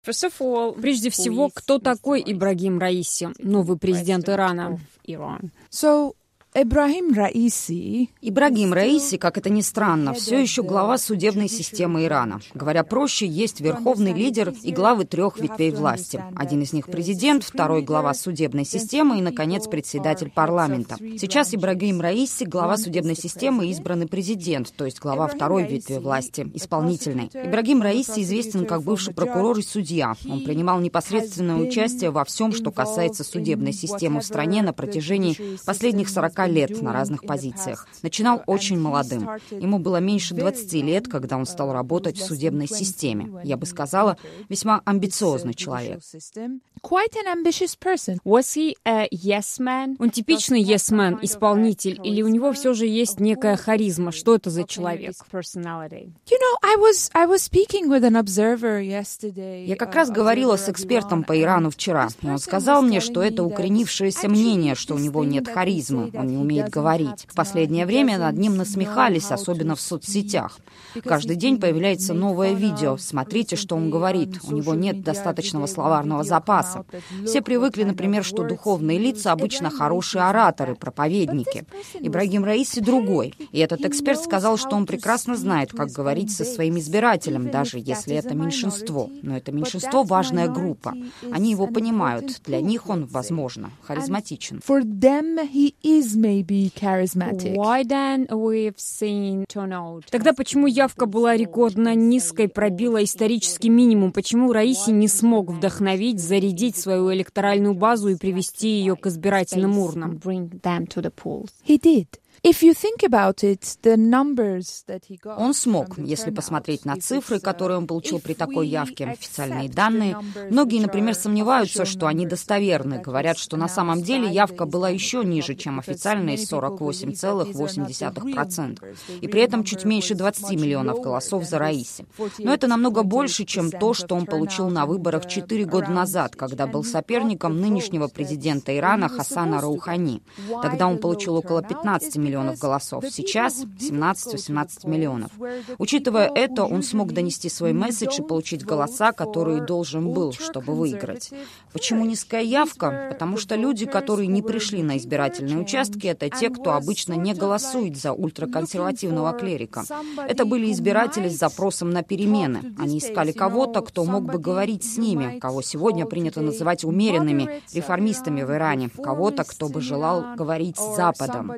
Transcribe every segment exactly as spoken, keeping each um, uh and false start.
Прежде всего, кто такой Ибрагим Раиси, новый президент Ирана? So, Ибрагим Раиси... Ибрагим Раиси, как это ни странно, все еще глава судебной системы Ирана. Говоря проще, есть верховный лидер и главы трех ветвей власти. Один из них президент, второй глава судебной системы и, наконец, председатель парламента. Сейчас Ибрагим Раиси, глава судебной системы, избранный президент, то есть глава второй ветви власти, исполнительной. Ибрагим Раиси известен как бывший прокурор и судья. Он принимал непосредственное участие во всем, что касается судебной системы в стране на протяжении последних сорока лет на разных позициях. Начинал очень молодым. Ему было меньше двадцати лет, когда он стал работать в судебной системе. Я бы сказала, весьма амбициозный человек. Quite an ambitious person. Was he a yes man? Он типичный yes man, исполнитель, или у него все же есть некая харизма? Что это за человек? You know, I was I was speaking with an observer yesterday. Я как раз говорила с экспертом по Ирану вчера, и он сказал мне, что это укоренившееся мнение, что у него нет харизмы, он не умеет говорить. В последнее время над ним насмехались, особенно в соцсетях. Каждый день появляется новое видео. Смотрите, что он говорит. У него нет достаточного словарного запаса. Все привыкли, например, что духовные лица обычно хорошие ораторы, проповедники. Ибрагим Раиси другой. И этот эксперт сказал, что он прекрасно знает, как говорить со своим избирателем, даже если это меньшинство. Но это меньшинство — важная группа. Они его понимают. Для них он, возможно, харизматичен. For them, he is maybe charismatic. Why then we've seen turnout? Тогда почему явка была рекордно низкой, пробила исторический минимум? Почему Раиси не смог вдохновить, зарядить свою электоральную базу и привести ее к избирательным урнам? He did. If you think about it, the numbers that he got. Он смог, если посмотреть на цифры, которые он получил при такой явке, официальные данные. Многие, например, сомневаются, что они достоверны. Говорят, что на самом деле явка была еще ниже, чем официальные сорок восемь целых восемь десятых процента. И при этом чуть меньше двадцати миллионов голосов за Раиси. Но это намного больше, чем то, что он получил на выборах четыре года назад, когда был соперником нынешнего президента Ирана Хасана Роухани. Тогда он получил около пятнадцати миллионов голосов. Сейчас семнадцать-восемнадцать миллионов. Учитывая это, он смог донести свой месседж и получить голоса, которые должен был, чтобы выиграть. Почему низкая явка? Потому что люди, которые не пришли на избирательные участки, это те, кто обычно не голосует за ультраконсервативного клерика. Это были избиратели с запросом на перемены. Они искали кого-то, кто мог бы говорить с ними, кого сегодня принято называть умеренными реформистами в Иране, кого-то, кто бы желал говорить с Западом.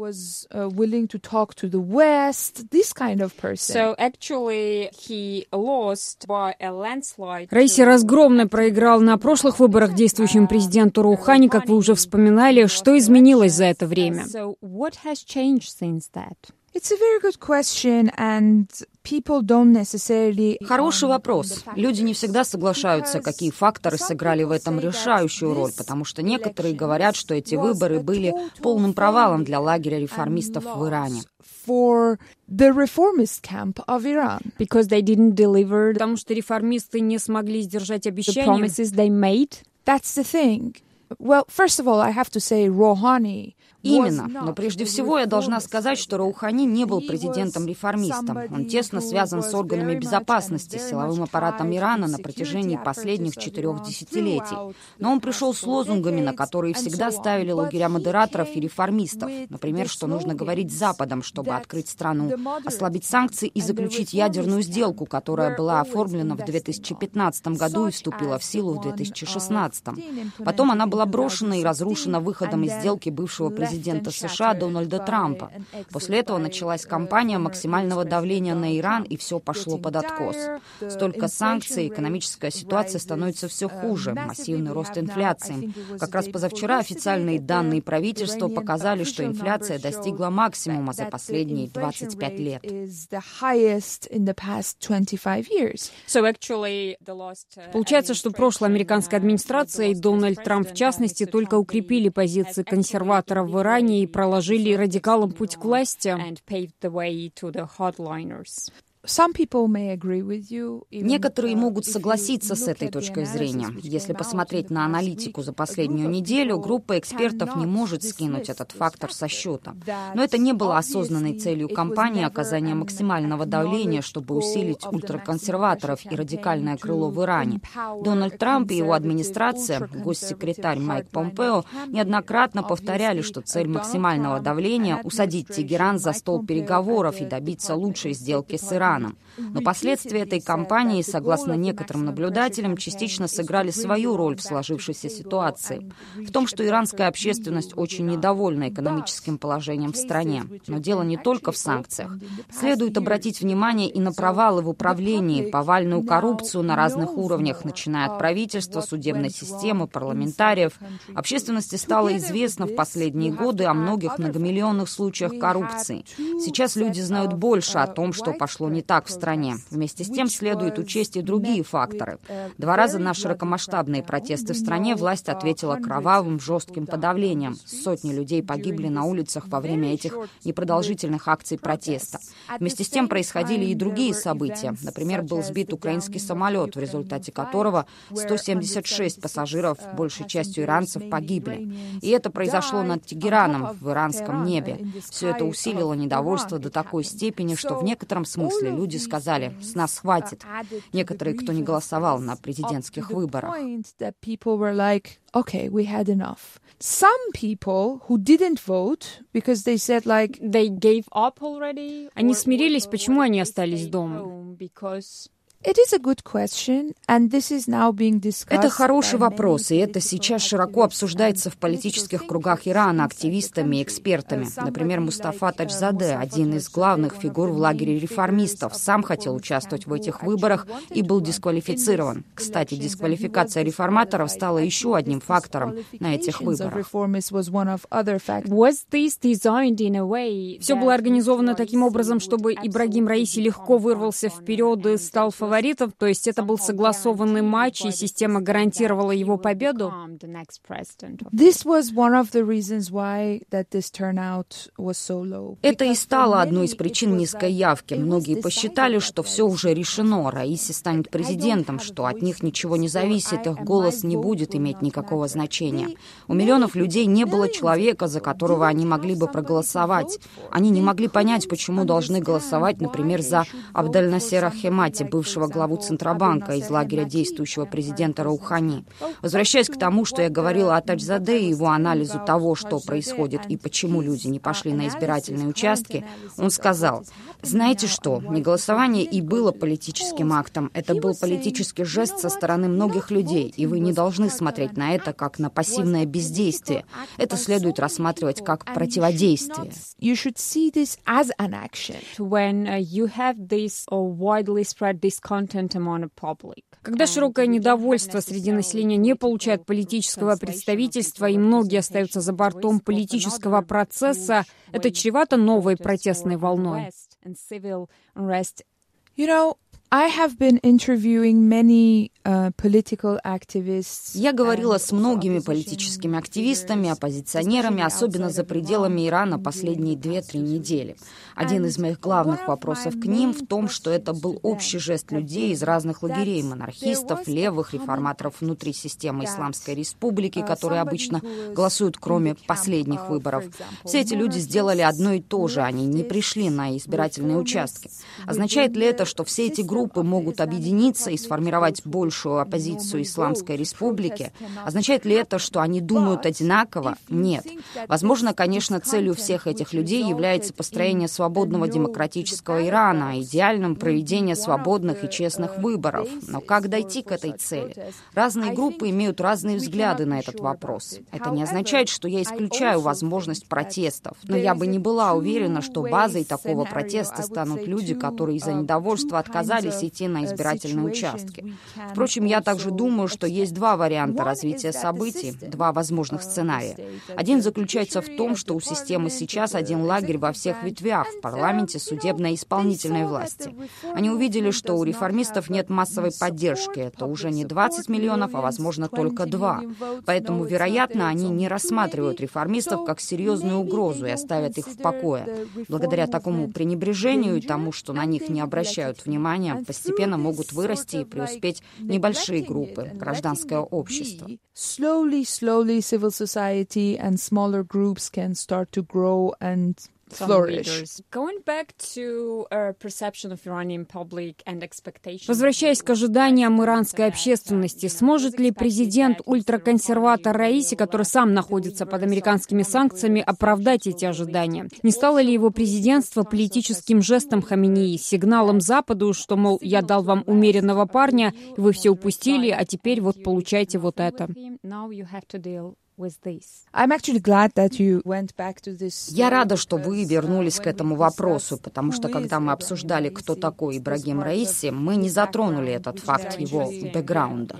Uh, willing to talk to the West, this kind of person. So actually he lost by a landslide. Раиси разгромно проиграл на прошлых выборах действующему президенту Роухани, как вы уже вспоминали. Что изменилось за это время? So what has changed since that? It's a very good question, and people don't necessarily... Хороший вопрос. Люди не всегда соглашаются, какие факторы сыграли в этом решающую роль, потому что некоторые говорят, что эти выборы были полным провалом для лагеря реформистов в Иране. For the reformist camp of Iran. Because they didn't deliver. Потому что реформисты не смогли сдержать обещания. The promises they made. That's the thing. Well, first of all, I have to say Rouhani. Именно. Но прежде всего я должна сказать, что Роухани не был президентом-реформистом. Он тесно связан с органами безопасности, силовым аппаратом Ирана на протяжении последних четырех десятилетий. Но он пришел с лозунгами, на которые всегда ставили лагеря модераторов и реформистов. Например, что нужно говорить с Западом, чтобы открыть страну, ослабить санкции и заключить ядерную сделку, которая была оформлена в две тысячи пятнадцатом году и вступила в силу в две тысячи шестнадцатом. Потом она была брошена и разрушена выходом из сделки бывшего президента президента США Дональда Трампа. После этого началась кампания максимального давления на Иран, и все пошло под откос. Столько санкций, экономическая ситуация становится все хуже, массивный рост инфляции. Как раз позавчера официальные данные правительства показали, что инфляция достигла максимума за последние двадцать пять лет. Получается, что прошлая американская администрация и Дональд Трамп в частности только укрепили позиции консерваторов в Иране и проложили радикалам путь к власти. Некоторые могут согласиться с этой точкой зрения. Если посмотреть на аналитику за последнюю неделю, группа экспертов не может скинуть этот фактор со счета. Но это не было осознанной целью кампании оказания максимального давления, чтобы усилить ультраконсерваторов и радикальное крыло в Иране. Дональд Трамп и его администрация, госсекретарь Майк Помпео, неоднократно повторяли, что цель максимального давления — усадить Тегеран за стол переговоров и добиться лучшей сделки с Ираном. Но последствия этой кампании, согласно некоторым наблюдателям, частично сыграли свою роль в сложившейся ситуации. В том, что иранская общественность очень недовольна экономическим положением в стране. Но дело не только в санкциях. Следует обратить внимание и на провалы в управлении, повальную коррупцию на разных уровнях, начиная от правительства, судебной системы, парламентариев. Общественности стало известно в последние годы о многих многомиллионных случаях коррупции. Сейчас люди знают больше о том, что пошло не так в стране. Вместе с тем следует учесть и другие факторы. Два раза на широкомасштабные протесты в стране власть ответила кровавым, жестким подавлением. Сотни людей погибли на улицах во время этих непродолжительных акций протеста. Вместе с тем происходили и другие события. Например, был сбит украинский самолет, в результате которого сто семьдесят шесть пассажиров, большей частью иранцев, погибли. И это произошло над Тегераном, в иранском небе. Все это усилило недовольство до такой степени, что в некотором смысле люди сказали: «С нас хватит». Некоторые, кто не голосовал на президентских выборах. Okay, we had enough. Some people who didn't vote because they said like they gave up already. Они смирились, почему они остались дома? It is a good question, and this is now being discussed. Это хороший вопрос, и это сейчас широко обсуждается в политических кругах Ирана активистами и экспертами. Например, Мустафа Таджзаде, один из главных фигур в лагере реформистов, сам хотел участвовать в этих выборах и был дисквалифицирован. Кстати, дисквалификация реформаторов стала еще одним фактором на этих выборах. Все было организовано таким образом, чтобы Ибрагим Раиси легко вырвался вперед и стал фаворитом. То есть это был согласованный матч, и система гарантировала его победу? Это и стало одной из причин низкой явки. Многие посчитали, что все уже решено, Раиси станет президентом, что от них ничего не зависит, их голос не будет иметь никакого значения. У миллионов людей не было человека, за которого они могли бы проголосовать. Они не могли понять, почему должны голосовать, например, за Абдаль-Насера Хемати, бывшего главу Центробанка из лагеря действующего президента Роухани. Возвращаясь к тому, что я говорила о Таджзаде и его анализу того, что происходит и почему люди не пошли на избирательные участки, он сказал: «Знаете что, неголосование и было политическим актом. Это был политический жест со стороны многих людей, и вы не должны смотреть на это как на пассивное бездействие. Это следует рассматривать как противодействие». Когда широкое недовольство среди населения не получает политического представительства и многие остаются за бортом политического процесса, это чревато новой протестной волной. You know, I have been interviewing many uh, political activists. Я говорила с многими политическими активистами, оппозиционерами, особенно за пределами Ирана, последние две-три недели. Один из моих главных вопросов к ним в том, что это был общий жест людей из разных лагерей, монархистов, левых, реформаторов внутри системы Исламской Республики, которые обычно голосуют, кроме последних выборов. Все эти люди сделали одно и то же, они не пришли на избирательные участки. Означает ли это, что все эти группы могут объединиться и сформировать большую оппозицию Исламской Республике? Означает ли это, что они думают одинаково? Нет. Возможно, конечно, целью всех этих людей является построение свободного демократического Ирана, идеальным проведение свободных и честных выборов. Но как дойти к этой цели? Разные группы имеют разные взгляды на этот вопрос. Это не означает, что я исключаю возможность протестов, но я бы не была уверена, что базой такого протеста станут люди, которые из-за недовольства отказались сети на избирательные участки. Впрочем, я также думаю, что есть два варианта развития событий, два возможных сценария. Один заключается в том, что у системы сейчас один лагерь во всех ветвях – в парламенте, судебной и исполнительной власти. Они увидели, что у реформистов нет массовой поддержки. Это уже не двадцать миллионов, а, возможно, только два. Поэтому, вероятно, они не рассматривают реформистов как серьезную угрозу и оставят их в покое. Благодаря такому пренебрежению и тому, что на них не обращают внимания, постепенно могут вырасти и преуспеть небольшие группы, гражданское общество. Slowly, slowly, civil society and smaller groups can start to grow and Возвращаясь к ожиданиям иранской общественности, сможет ли президент ультраконсерватор Раиси, который сам находится под американскими санкциями, оправдать эти ожидания? Не стало ли его президентство политическим жестом Хаминеи, сигналом Западу, что, мол, я дал вам умеренного парня, и вы все упустили, а теперь вот получайте вот это? Я рада, что вы вернулись к этому вопросу, потому что, когда мы обсуждали, кто такой Ибрагим Раиси, мы не затронули этот факт его бэкграунда.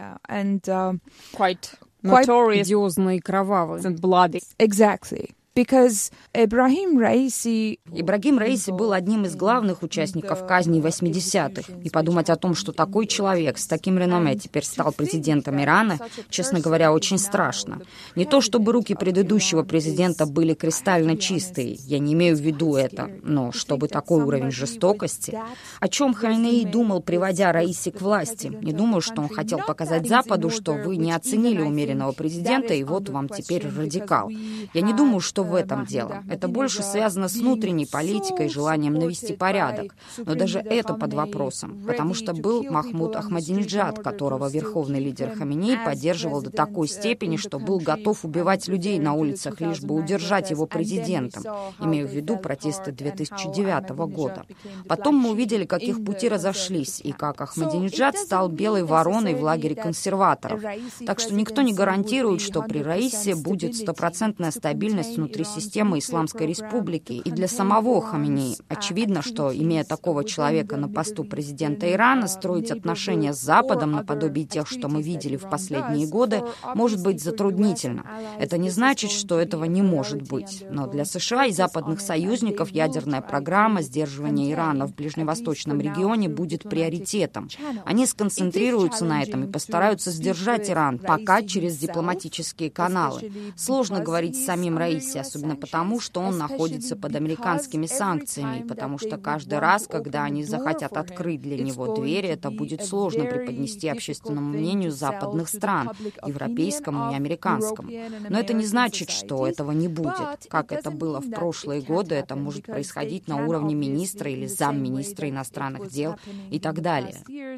Одиозный и кровавый. Exactly. Because Ибрагим Раиси... Ибрагим Раиси был одним из главных участников казни восьмидесятых. И подумать о том, что такой человек с таким реноме теперь стал президентом Ирана, честно говоря, очень страшно. Не то чтобы руки предыдущего президента были кристально чистые, я не имею в виду это, но чтобы такой уровень жестокости. О чем Хаминеи думал, приводя Раиси к власти? Не думаю, что он хотел показать Западу, что вы не оценили умеренного президента, и вот вам теперь радикал. Я не думаю, что в этом дело. Это больше связано с внутренней политикой и желанием навести порядок. Но даже это под вопросом, потому что был Махмуд Ахмадинеджад, которого верховный лидер Хаминеи поддерживал до такой степени, что был готов убивать людей на улицах, лишь бы удержать его президентом. Имею в виду протесты две тысячи девятого года. Потом мы увидели, как их пути разошлись, и как Ахмадинеджад стал белой вороной в лагере консерваторов. Так что никто не гарантирует, что при Раисе будет стопроцентная стабильность внутри системы Исламской Республики. И для самого Хаминеи очевидно, что, имея такого человека на посту президента Ирана, строить отношения с Западом наподобие тех, что мы видели в последние годы, может быть затруднительно. Это не значит, что этого не может быть. Но для США и западных союзников ядерная программа сдерживания Ирана в ближневосточном регионе будет приоритетом. Они сконцентрируются на этом и постараются сдержать Иран, пока через дипломатические каналы. Сложно говорить с самим Раиси, особенно потому, что он находится под американскими санкциями, и потому что каждый раз, когда они захотят открыть для него двери, это будет сложно преподнести общественному мнению западных стран, европейскому и американскому. Но это не значит, что этого не будет. Как это было в прошлые годы, это может происходить на уровне министра или замминистра иностранных дел и так далее.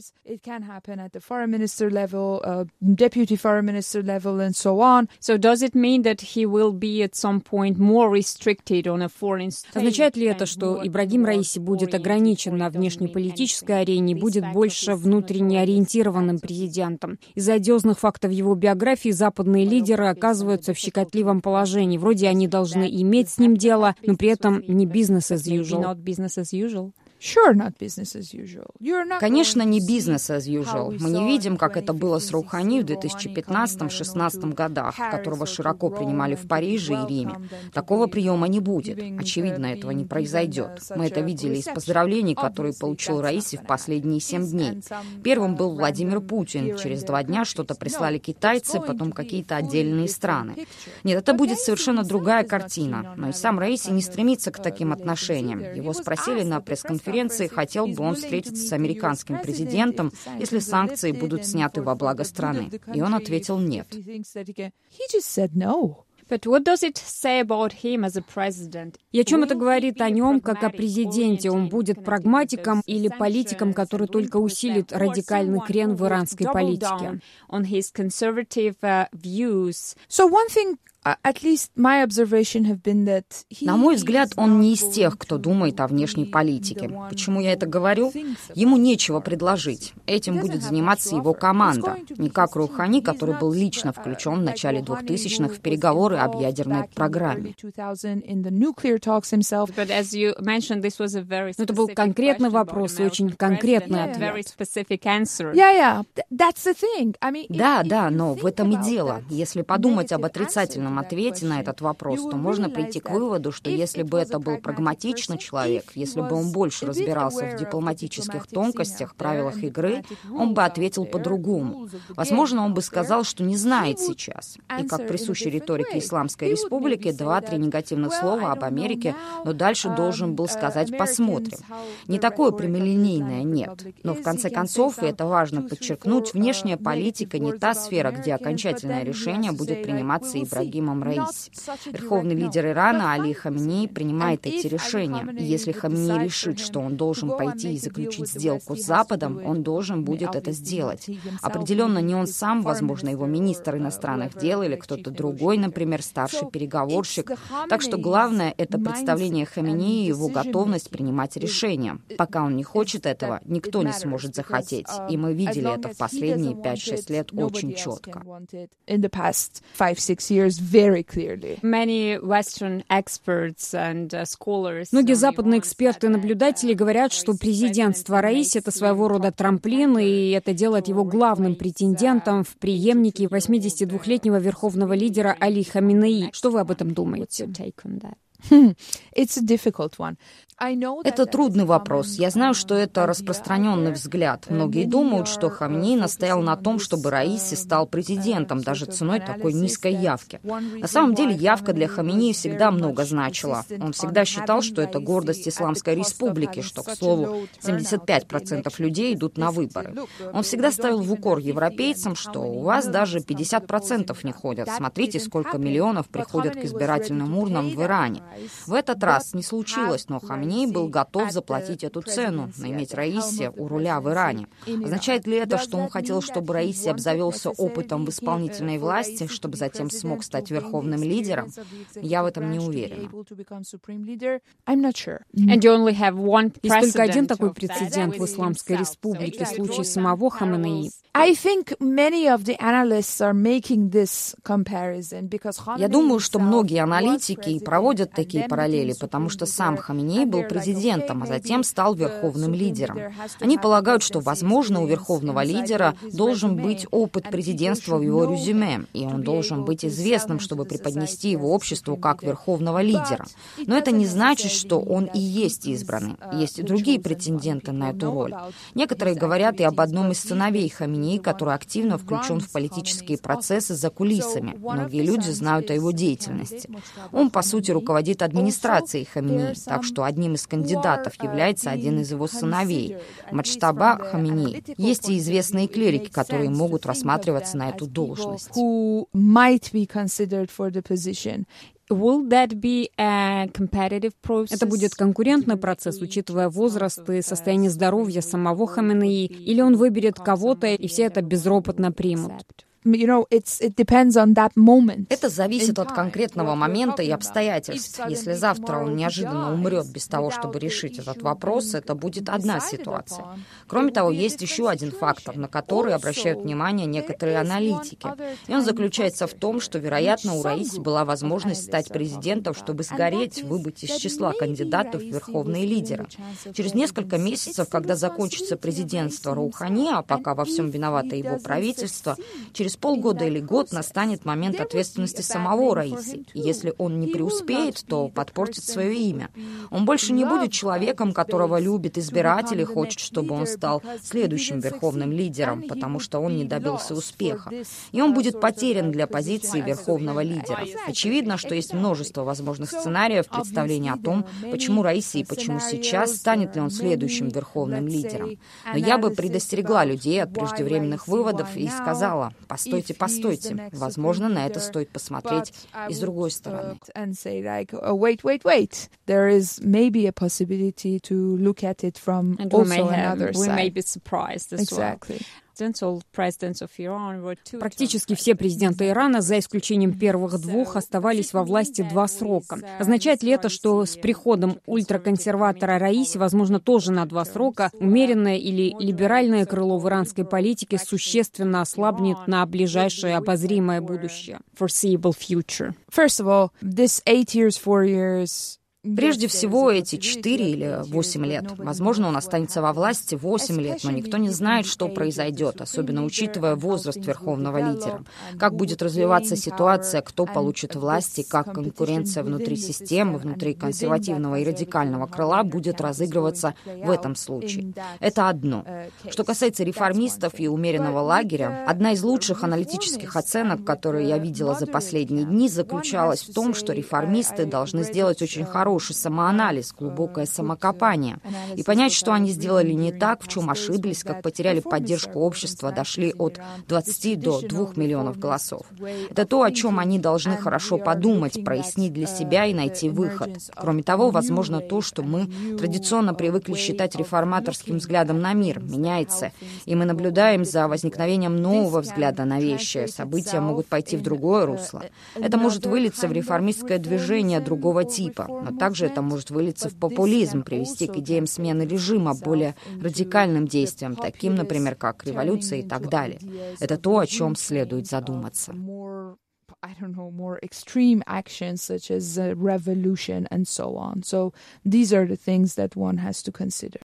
So does it mean that he will be at some point more restricted on a foreign state? Означает ли это, что Ибрагим Раиси будет ограничен на внешнеполитической арене и будет больше внутренне ориентированным президентом? Из-за одиозных фактов его биографии западные лидеры оказываются в щекотливом положении. Вроде они должны иметь с ним дело, но при этом не business as usual. Not business as usual. Sure, not business as usual. Конечно, не бизнес as usual. Мы не видим, как это было с Роухани в две тысячи пятнадцатом-шестнадцатом годах, которого широко принимали в Париже и Риме. Такого приема не будет. Очевидно, этого не произойдет. Мы это видели из поздравлений, которые получил Раиси в последние семь дней. Первым был Владимир Путин. Через два дня что-то прислали китайцы, потом какие-то отдельные страны. Нет, это будет совершенно другая картина. Но и сам Раиси не стремится к таким отношениям. Его спросили на пресс-конференции, хотел бы он встретиться с американским президентом, если санкции будут сняты во благо страны. И он ответил «нет». But what does it say about him as a president? И о чем это говорит о нем, как о президенте? Он будет прагматиком или политиком, который только усилит радикальный крен в иранской политике? On his conservative uh, views. So one thing На мой взгляд, он не из тех, кто думает о внешней политике. Почему я это говорю? Ему нечего предложить. Этим будет заниматься его команда. Не как Роухани, который был лично включен в начале двухтысячных в переговоры об ядерной программе. Но это был конкретный вопрос и очень конкретный ответ. Да, да, но в этом и дело. Если подумать об отрицательном ответе на этот вопрос, то можно прийти к выводу, что если бы это был прагматичный человек, если бы он больше разбирался в дипломатических тонкостях, правилах игры, он бы ответил по-другому. Возможно, он бы сказал, что не знает сейчас. И как присуще риторике Исламской Республики, два-три негативных слова об Америке, но дальше должен был сказать «посмотрим». Не такое прямолинейное «нет». Но в конце концов, и это важно подчеркнуть, внешняя политика не та сфера, где окончательное решение будет приниматься Ибрагимом Раиси. Верховный лидер Ирана Али Хаминеи принимает эти решения. И если Хаминеи решит, что он должен пойти и заключить сделку с Западом, он должен будет это сделать. Определенно не он сам, возможно, его министр иностранных дел или кто-то другой, например, старший переговорщик. Так что главное — это представление Хаминеи и его готовность принимать решения. Пока он не хочет этого, никто не сможет захотеть. И мы видели это в последние пять-шесть лет очень четко. Многие западные эксперты и наблюдатели говорят, что президентство Раиси — это своего рода трамплин, и это делает его главным претендентом в преемнике восьмидесятидвухлетнего верховного лидера Али Хаминеи. Что вы об этом думаете? Это трудный вопрос. Я знаю, что это распространенный взгляд. Многие думают, что Хаминеи настоял на том, чтобы Раиси стал президентом, даже ценой такой низкой явки. На самом деле явка для Хаминеи всегда много значила. Он всегда считал, что это гордость Исламской Республики, что, к слову, семьдесят пять процентов людей идут на выборы. Он всегда ставил в укор европейцам, что у вас даже пятьдесят процентов не ходят. Смотрите, сколько миллионов приходят к избирательным урнам в Иране. В этот раз не случилось, но Хаминеи был готов заплатить эту цену, иметь Раиси у руля в Иране. Означает ли это, что он хотел, чтобы Раиси обзавелся опытом в исполнительной власти, чтобы затем смог стать верховным лидером? Я в этом не уверена. Есть только один такой прецедент в Исламской Республике, случай самого Хаминеи. Я думаю, что многие аналитики и проводят такие параллели, потому что сам Хаминеи был президентом, а затем стал верховным лидером. Они полагают, что, возможно, у верховного лидера должен быть опыт президентства в его резюме, и он должен быть известным, чтобы преподнести его обществу как верховного лидера. Но это не значит, что он и есть избранный. Есть и другие претенденты на эту роль. Некоторые говорят и об одном из сыновей Хаминеи, который активно включен в политические процессы за кулисами. Многие люди знают о его деятельности. Он, по сути, руководит администрацией Хаминеи, так что одним из кандидатов является один из его сыновей, Маджтаба Хаминеи. Есть и известные клирики, которые могут рассматриваться на эту должность. Will that be a competitive process? Это будет конкурентный процесс, учитывая возраст и состояние здоровья самого Хаминеи, или он выберет кого-то, и все это безропотно примут? Это зависит от конкретного момента и обстоятельств. Если завтра он неожиданно умрет без того, чтобы решить этот вопрос, это будет одна ситуация. Кроме того, есть еще один фактор, на который обращают внимание некоторые аналитики. И он заключается в том, что, вероятно, у Раиси была возможность стать президентом, чтобы сгореть, выбыть из числа кандидатов в верховные лидеры. Через несколько месяцев, когда закончится президентство Роухани, а пока во всем виновато его правительство, через полгода или год настанет момент ответственности самого Раиси. И если он не преуспеет, то подпортит свое имя. Он больше не будет человеком, которого любит избиратель и хочет, чтобы он стал следующим верховным лидером, потому что он не добился успеха. И он будет потерян для позиции верховного лидера. Очевидно, что есть множество возможных сценариев представления о том, почему Раиси и почему сейчас, станет ли он следующим верховным лидером. Но я бы предостерегла людей от преждевременных выводов и сказала: Постойте, постойте. Возможно, на это стоит посмотреть и с другой стороны. Wait, wait, wait. There is maybe a possibility to look at it from also another side. We may be surprised as well. Exactly. Практически все президенты Ирана, за исключением первых двух, оставались во власти два срока. Означает ли это, что с приходом ультраконсерватора Раиси, возможно, тоже на два срока, умеренное или либеральное крыло в иранской политике существенно ослабнет на ближайшее обозримое будущее? Foreseeable future. First of all, this eight years, four years... Прежде всего, эти четыре или восемь лет. Возможно, он останется во власти восемь лет, но никто не знает, что произойдет, особенно учитывая возраст верховного лидера. Как будет развиваться ситуация, кто получит власть и как конкуренция внутри системы, внутри консервативного и радикального крыла будет разыгрываться в этом случае. Это одно. Что касается реформистов и умеренного лагеря, одна из лучших аналитических оценок, которые я видела за последние дни, заключалась в том, что реформисты должны сделать очень хороший Хороший самоанализ, глубокое самокопание и понять, что они сделали не так, в чем ошиблись, как потеряли поддержку общества, дошли от двадцати до двух миллионов голосов. Это то, о чем они должны хорошо подумать, прояснить для себя и найти выход. Кроме того, возможно, то, что мы традиционно привыкли считать реформаторским взглядом на мир, меняется, и мы наблюдаем за возникновением нового взгляда на вещи. События могут пойти в другое русло. Это может вылиться в реформистское движение другого типа, но также это может вылиться в популизм, привести к идеям смены режима, более радикальным действиям, таким, например, как революция и так далее. Это то, о чем следует задуматься. I don't know, more extreme actions such as a revolution and so on. So these are the things that one has to consider.